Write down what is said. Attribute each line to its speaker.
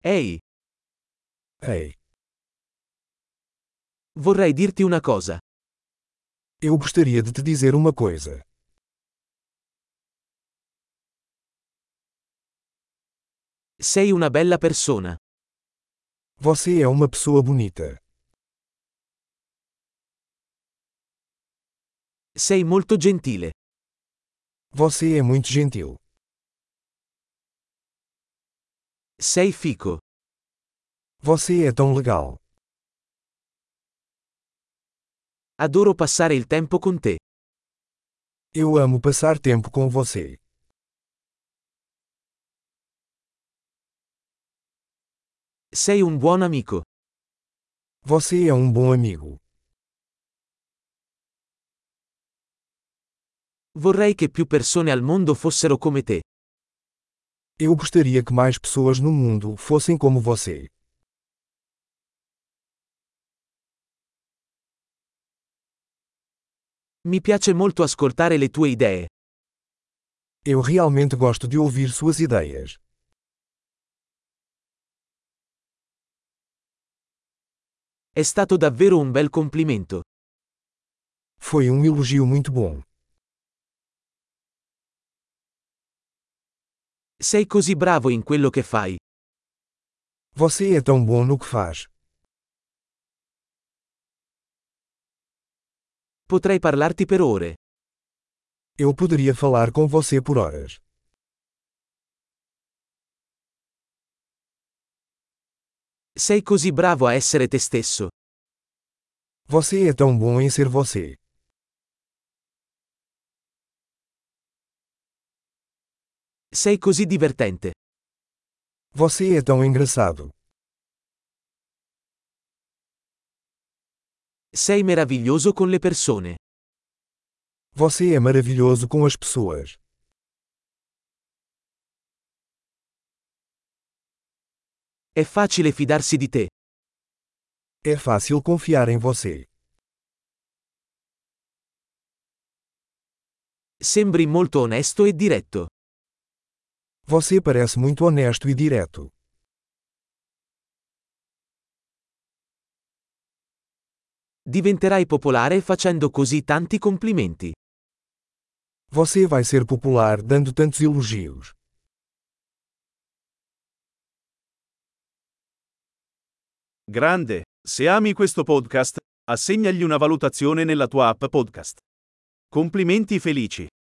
Speaker 1: Ehi,
Speaker 2: Ei,
Speaker 1: vorrei dirti una cosa.
Speaker 2: eu gostaria de te dizer uma coisa.
Speaker 1: Sei una bella persona.
Speaker 2: Você é uma pessoa bonita.
Speaker 1: Sei molto gentile.
Speaker 2: Você é muito gentil.
Speaker 1: Sei fico.
Speaker 2: Você é tão legal.
Speaker 1: Adoro passare il tempo con te.
Speaker 2: Eu amo passar tempo com você.
Speaker 1: Sei un buon amico.
Speaker 2: Você é um bom amigo.
Speaker 1: Vorrei che più persone al mondo fossero come te.
Speaker 2: Eu gostaria que mais pessoas no mundo fossem como você.
Speaker 1: Mi piace molto ascoltare le tue idee.
Speaker 2: Eu realmente gosto de ouvir suas ideias.
Speaker 1: È stato davvero un bel complimento.
Speaker 2: Foi um elogio muito bom.
Speaker 1: Sei così bravo in quello che fai.
Speaker 2: Você é tão bom no que faz.
Speaker 1: Potrei parlarti per ore.
Speaker 2: Eu poderia falar com você por horas.
Speaker 1: Sei così bravo a essere te stesso.
Speaker 2: Você é tão bom em ser você.
Speaker 1: Sei così divertente.
Speaker 2: Você é tão engraçado.
Speaker 1: Sei meraviglioso con le persone.
Speaker 2: Você é maravilhoso com as pessoas.
Speaker 1: È facile fidarsi di te.
Speaker 2: É fácil confiar em você.
Speaker 1: Sembri molto onesto e diretto.
Speaker 2: Você parece muito honesto e direto.
Speaker 1: Diventerai popolare facendo così tanti complimenti.
Speaker 2: Você vai ser popular dando tantos elogios.
Speaker 3: Grande, se ami questo podcast, assegnagli una valutazione nella tua app podcast. Complimenti felici.